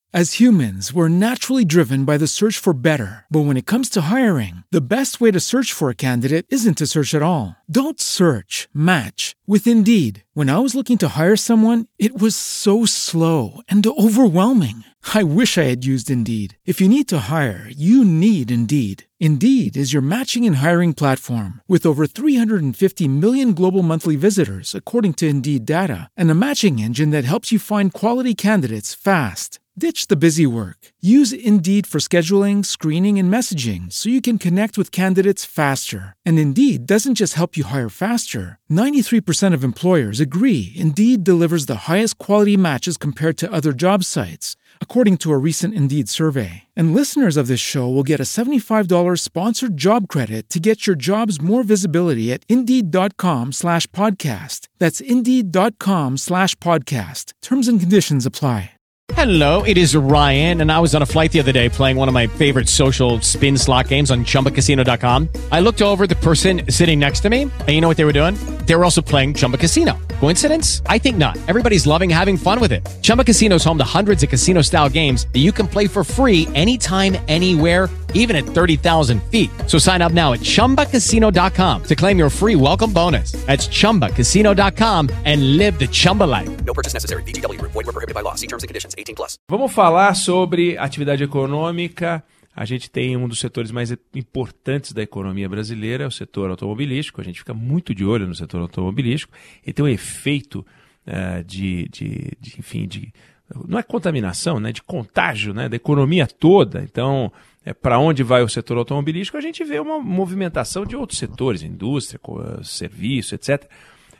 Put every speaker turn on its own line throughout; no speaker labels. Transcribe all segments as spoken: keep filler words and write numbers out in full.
As humans, we're naturally driven by the search for better. But when it comes to hiring, the best way to search for a candidate isn't to search at all. Don't search, match with Indeed. When I was looking to hire someone, it was so slow and overwhelming. I wish I had used Indeed. If you need to hire, you need Indeed. Indeed is your matching and hiring platform with over three hundred fifty million global monthly visitors, according to Indeed data, and a matching engine that helps you find quality candidates fast. Ditch the busy work. Use Indeed for scheduling, screening, and messaging so you can connect with candidates faster. And Indeed doesn't just help you hire faster. ninety-three percent of employers agree Indeed delivers the highest quality matches compared to other job sites, according to a recent Indeed survey. And listeners of this show will get a seventy-five dollars sponsored job credit to get your jobs more visibility at Indeed.com slash podcast. That's Indeed.com slash podcast. Terms and conditions apply.
Hello, it is Ryan, and I was on a flight the other day playing one of my favorite social spin slot games on Chumba Casino dot com. I looked over at the person sitting next to me, and you know what they were doing? They were also playing Chumba Casino. Coincidence? I think not. Everybody's loving having fun with it. Chumba Casino is home to hundreds of casino-style games that you can play for free anytime, anywhere, even at thirty thousand feet. So sign up now at Chumba Casino dot com to claim your free welcome bonus. That's Chumba Casino dot com and live the Chumba life.
No purchase necessary. V G W. Void where prohibited by law. See terms and conditions. eighteen plus.
Vamos falar sobre atividade econômica. A gente tem um dos setores mais importantes da economia brasileira, o setor automobilístico. A gente fica muito de olho no setor automobilístico. Ele tem um efeito uh, de, de, de, enfim, de, não é contaminação, né, de contágio, né, da economia toda. Então, é, para onde vai o setor automobilístico, a gente vê uma movimentação de outros setores, indústria, serviço, etcétera.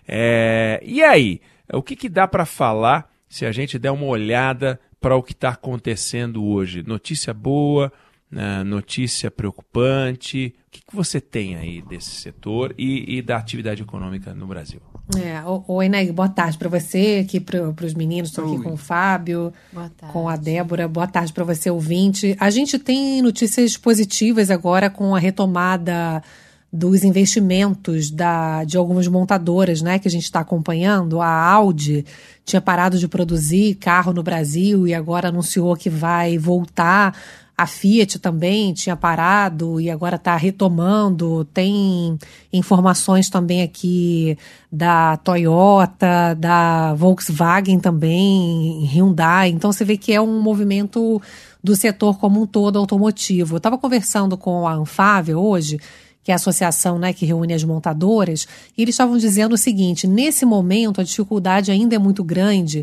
É, e aí, o que, que dá para falar se a gente der uma olhada para o que está acontecendo hoje? Notícia boa, né, notícia preocupante. O que, que você tem aí desse setor e, e da atividade econômica no Brasil?
É, oi, Neg, boa tarde para você, aqui para os meninos, estou aqui com o Fábio, com a Débora, boa tarde para você, ouvinte. A gente tem notícias positivas agora com a retomada dos investimentos da, de algumas montadoras, né, que a gente está acompanhando. A Audi tinha parado de produzir carro no Brasil e agora anunciou que vai voltar. A Fiat também tinha parado e agora está retomando. Tem informações também aqui da Toyota, da Volkswagen também, Hyundai. Então você vê que é um movimento do setor como um todo automotivo. Eu estava conversando com a Anfávia hoje, que é a associação, né, que reúne as montadoras, e eles estavam dizendo o seguinte: nesse momento a dificuldade ainda é muito grande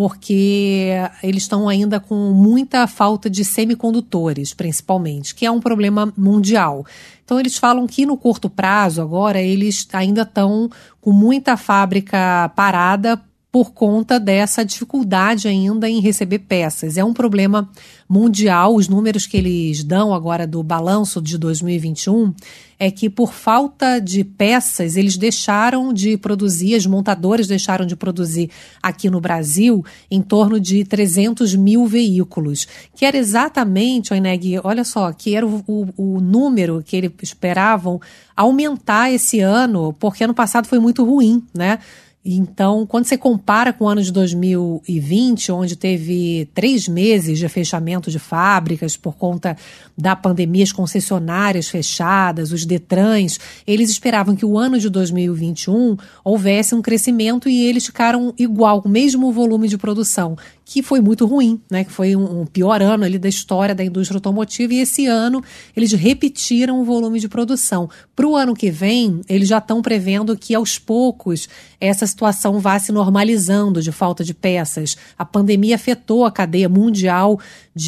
porque eles estão ainda com muita falta de semicondutores, principalmente, que é um problema mundial. Então eles falam que no curto prazo agora eles ainda estão com muita fábrica parada por conta dessa dificuldade ainda em receber peças. É um problema mundial. Os números que eles dão agora do balanço de dois mil e vinte e um é que por falta de peças eles deixaram de produzir, as montadoras deixaram de produzir aqui no Brasil em torno de trezentos mil veículos, que era exatamente, Oineg, olha só, que era o, o, o número que eles esperavam aumentar esse ano, porque ano passado foi muito ruim, né? Então, quando você compara com o ano de dois mil e vinte, onde teve três meses de fechamento de fábricas por conta da pandemia, as concessionárias fechadas, os Detrans, eles esperavam que o ano de dois mil e vinte e um houvesse um crescimento e eles ficaram igual, com o mesmo volume de produção, que foi muito ruim, né? Que foi um, um pior ano ali da história da indústria automotiva, e esse ano eles repetiram o volume de produção. Para o ano que vem, eles já estão prevendo que aos poucos essa situação vá se normalizando de falta de peças. A pandemia afetou a cadeia mundial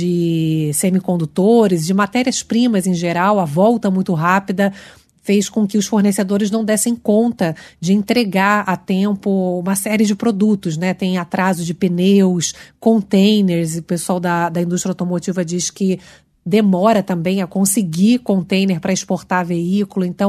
de semicondutores, de matérias-primas em geral, a volta muito rápida fez com que os fornecedores não dessem conta de entregar a tempo uma série de produtos, né? Tem atraso de pneus, containers, e o pessoal da, da indústria automotiva diz que demora também a conseguir container para exportar veículo. Então,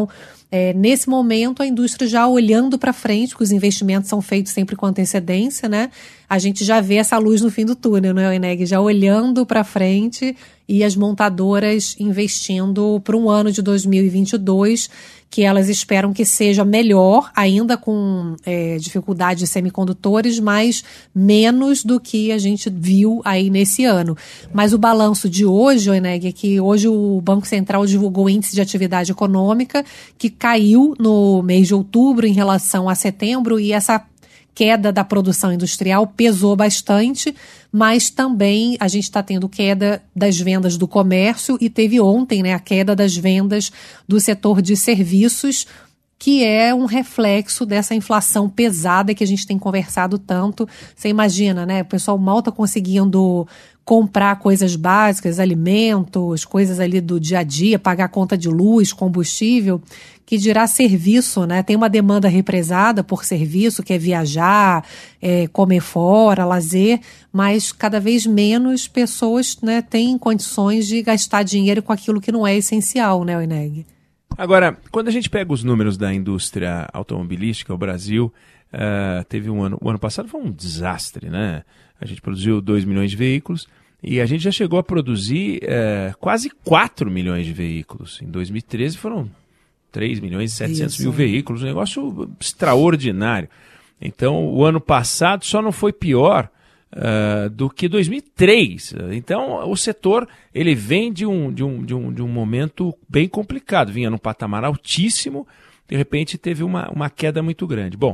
É, nesse momento, a indústria já olhando para frente, porque os investimentos são feitos sempre com antecedência, né? A gente já vê essa luz no fim do túnel, né, Eneg? Já olhando para frente e as montadoras investindo para um ano de dois mil e vinte e dois, que elas esperam que seja melhor, ainda com é, dificuldade de semicondutores, mas menos do que a gente viu aí nesse ano. Mas o balanço de hoje, Eneg, é que hoje o Banco Central divulgou o índice de atividade econômica, que caiu no mês de outubro em relação a setembro, e essa queda da produção industrial pesou bastante, mas também a gente está tendo queda das vendas do comércio e teve ontem, né, a queda das vendas do setor de serviços, que é um reflexo dessa inflação pesada que a gente tem conversado tanto. Você imagina, né? O pessoal mal está conseguindo comprar coisas básicas, alimentos, coisas ali do dia a dia, pagar conta de luz, combustível, que dirá serviço, né? Tem uma demanda represada por serviço, que é viajar, é, comer fora, lazer, mas cada vez menos pessoas, né, têm condições de gastar dinheiro com aquilo que não é essencial, né, Eneg?
Agora, quando a gente pega os números da indústria automobilística, o Brasil uh, teve um ano... O ano passado foi um desastre, né? A gente produziu dois milhões de veículos e a gente já chegou a produzir uh, quase quatro milhões de veículos. Em dois mil e treze foram três milhões e setecentos mil veículos, um negócio extraordinário. Então, o ano passado só não foi pior Uh, do que dois mil e três. Então o setor ele vem de um, de, um, de, um, de um momento bem complicado, vinha num patamar altíssimo, de repente teve uma, uma queda muito grande. Bom,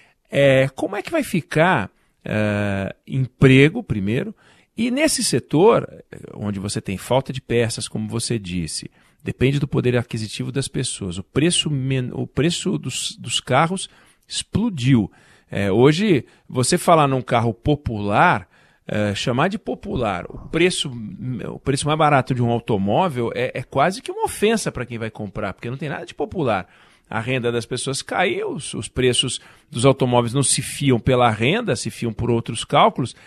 é, como é que vai ficar uh, emprego primeiro, e nesse setor onde você tem falta de peças, como você disse, depende do poder aquisitivo das pessoas, o preço, o preço dos, dos carros explodiu. É, hoje, você falar num carro popular, é, chamar de popular o preço, o preço mais barato de um automóvel é, é quase que uma ofensa para quem vai comprar, porque não tem nada de popular. A renda das pessoas caiu, os, os preços dos automóveis não se fiam pela renda, se fiam por outros cálculos.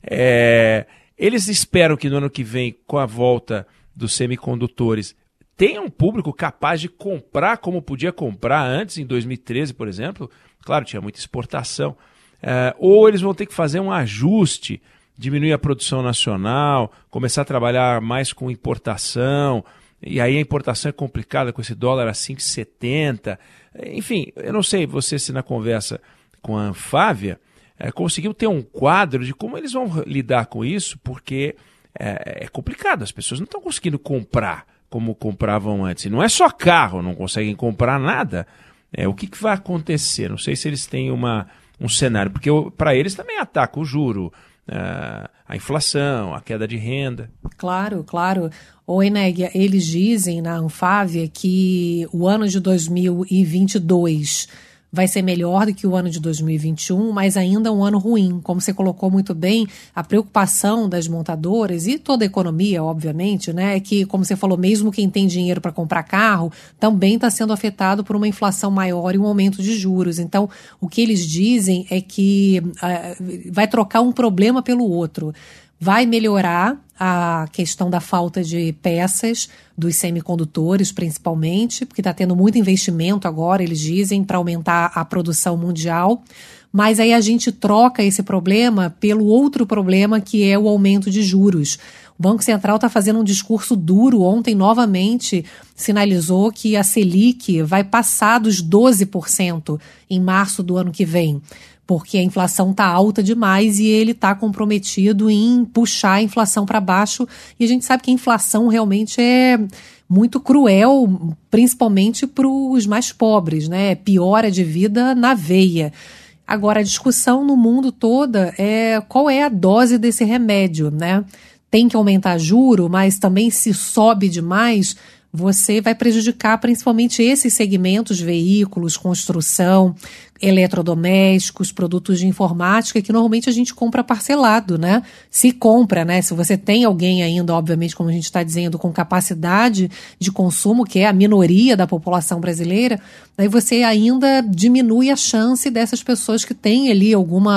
É, eles esperam que no ano que vem, com a volta dos semicondutores, tenha um público capaz de comprar como podia comprar antes, em dois mil e treze, por exemplo. Claro, tinha muita exportação. Uh, ou eles vão ter que fazer um ajuste, diminuir a produção nacional, começar a trabalhar mais com importação, e aí a importação é complicada com esse dólar a cinco reais e setenta centavos. Enfim, eu não sei, você se na conversa com a Anfávia uh, conseguiu ter um quadro de como eles vão lidar com isso, porque uh, é complicado, as pessoas não estão conseguindo comprar como compravam antes. E não é só carro, não conseguem comprar nada. É, o que, que vai acontecer? Não sei se eles têm uma, um cenário, porque para eles também ataca o juro, uh, a inflação, a queda de renda.
Claro, claro. Ô, Eneg, eles dizem na Anfávia que o ano de dois mil e vinte e dois vai ser melhor do que o ano de dois mil e vinte e um, mas ainda um ano ruim. Como você colocou muito bem, a preocupação das montadoras e toda a economia, obviamente, né, é que, como você falou, mesmo quem tem dinheiro para comprar carro, também está sendo afetado por uma inflação maior e um aumento de juros. Então, o que eles dizem é que uh, vai trocar um problema pelo outro. Vai melhorar a questão da falta de peças, dos semicondutores principalmente, porque está tendo muito investimento agora, eles dizem, para aumentar a produção mundial. Mas aí a gente troca esse problema pelo outro problema, que é o aumento de juros. O Banco Central está fazendo um discurso duro. Ontem, novamente, sinalizou que a Selic vai passar dos doze por cento em março do ano que vem, porque a inflação está alta demais e ele está comprometido em puxar a inflação para baixo. E a gente sabe que a inflação realmente é muito cruel, principalmente para os mais pobres, né? Piora de vida na veia. Agora, a discussão no mundo toda é qual é a dose desse remédio, né? Tem que aumentar juro, mas também se sobe demais, você vai prejudicar principalmente esses segmentos, veículos, construção, eletrodomésticos, produtos de informática, que normalmente a gente compra parcelado, né? Se compra, né? Se você tem alguém ainda, obviamente, como a gente está dizendo, com capacidade de consumo, que é a minoria da população brasileira, aí você ainda diminui a chance dessas pessoas que têm ali alguma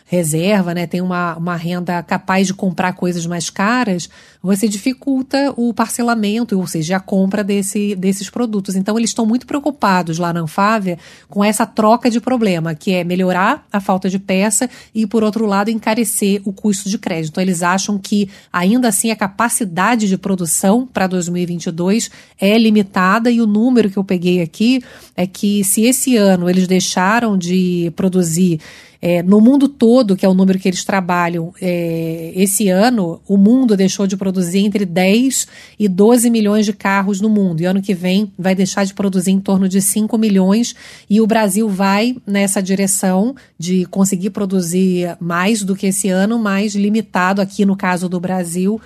reserva, né, tem uma, uma renda capaz de comprar coisas mais caras, você dificulta o parcelamento, ou seja, a compra desse, desses produtos. Então, eles estão muito preocupados lá na Anfávia com essa troca de problema, que é melhorar a falta de peça e, por outro lado, encarecer o custo de crédito. Então, eles acham que, ainda assim, a capacidade de produção para dois mil e vinte e dois é limitada, e o número que eu peguei aqui é que, se esse ano eles deixaram de produzir É, no mundo todo, que é o número que eles trabalham, é, esse ano o mundo deixou de produzir entre dez e doze milhões de carros no mundo, e ano que vem vai deixar de produzir em torno de cinco milhões, e o Brasil vai nessa direção de conseguir produzir mais do que esse ano, mas limitado aqui no caso do Brasil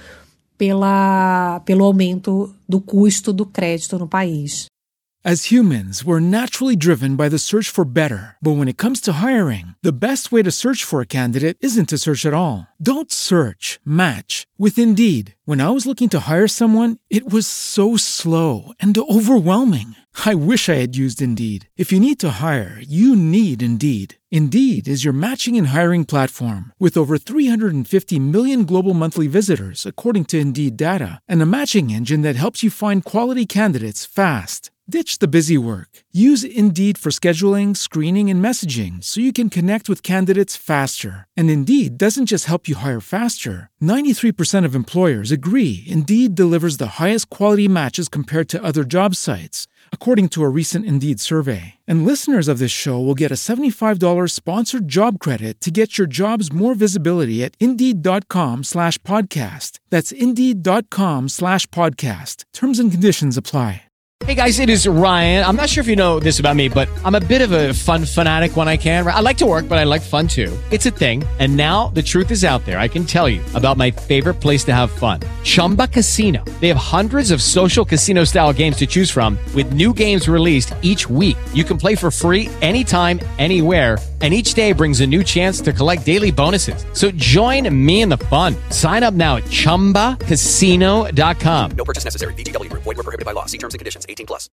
pela, pelo aumento do custo do crédito no país.
As humans, we're naturally driven by the search for better. But when it comes to hiring, the best way to search for a candidate isn't to search at all. Don't search, match with Indeed. When I was looking to hire someone, it was so slow and overwhelming. I wish I had used Indeed. If you need to hire, you need Indeed. Indeed is your matching and hiring platform with over three hundred fifty million global monthly visitors, according to Indeed data, and a matching engine that helps you find quality candidates fast. Ditch the busy work. Use Indeed for scheduling, screening, and messaging so you can connect with candidates faster. And Indeed doesn't just help you hire faster. ninety-three percent of employers agree Indeed delivers the highest quality matches compared to other job sites, according to a recent Indeed survey. And listeners of this show will get a seventy-five dollars sponsored job credit to get your jobs more visibility at Indeed.com slash podcast. That's Indeed.com slash podcast. Terms and conditions apply.
Hey guys, it is Ryan. I'm not sure if you know this about me, but I'm a bit of a fun fanatic when I can. I like to work, but I like fun too. It's a thing. And now the truth is out there. I can tell you about my favorite place to have fun. Chumba Casino. They have hundreds of social casino style games to choose from with new games released each week. You can play for free anytime, anywhere. And each day brings a new chance to collect daily bonuses. So join me in the fun. Sign up now at Chumba Casino dot com.
No purchase necessary. V G W Group. Void where prohibited by law. See terms and conditions. eighteen plus.